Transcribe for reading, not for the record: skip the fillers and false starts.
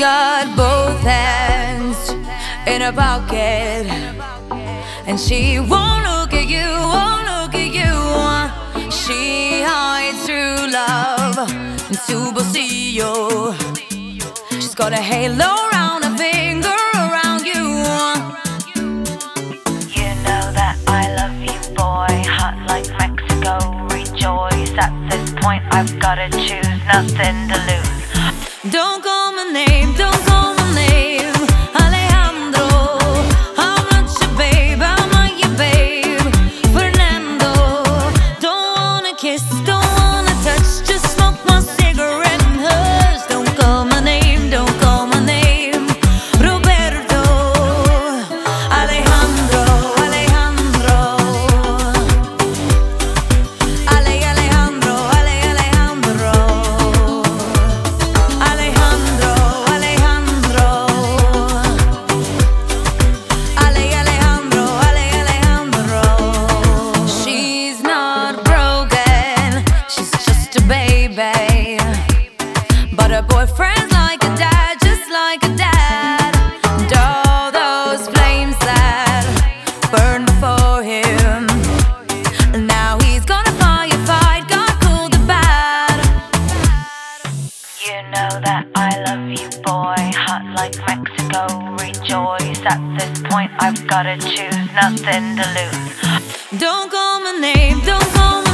got both hands in her pocket, and she won't look at you, won't look at you. She hides true love in Superceo. She's got a halo around her finger, around you. You know that I love you, boy, hot like Mexico. Rejoice, at this point I've gotta choose, nothing to lose. Don't call my name, don't call my name, Alejandro. I'm not your babe, I'm not your babe, Fernando. Don't wanna kiss, don't wanna touch, just smoke my cigarette and hush. Don't call my name, don't call my name, Roberto. Alejandro, Alejandro, Alejandro, Alejandro. She's not broken, she's just a baby, but her boyfriend's like a dad, just like a dad. And all those flames that burned for him, now he's gonna firefight, God cool the bad. You know that I love you, boy, hot like Mexico. Rejoice, at this point I've gotta choose, nothing to lose. Don't call my name, don't call my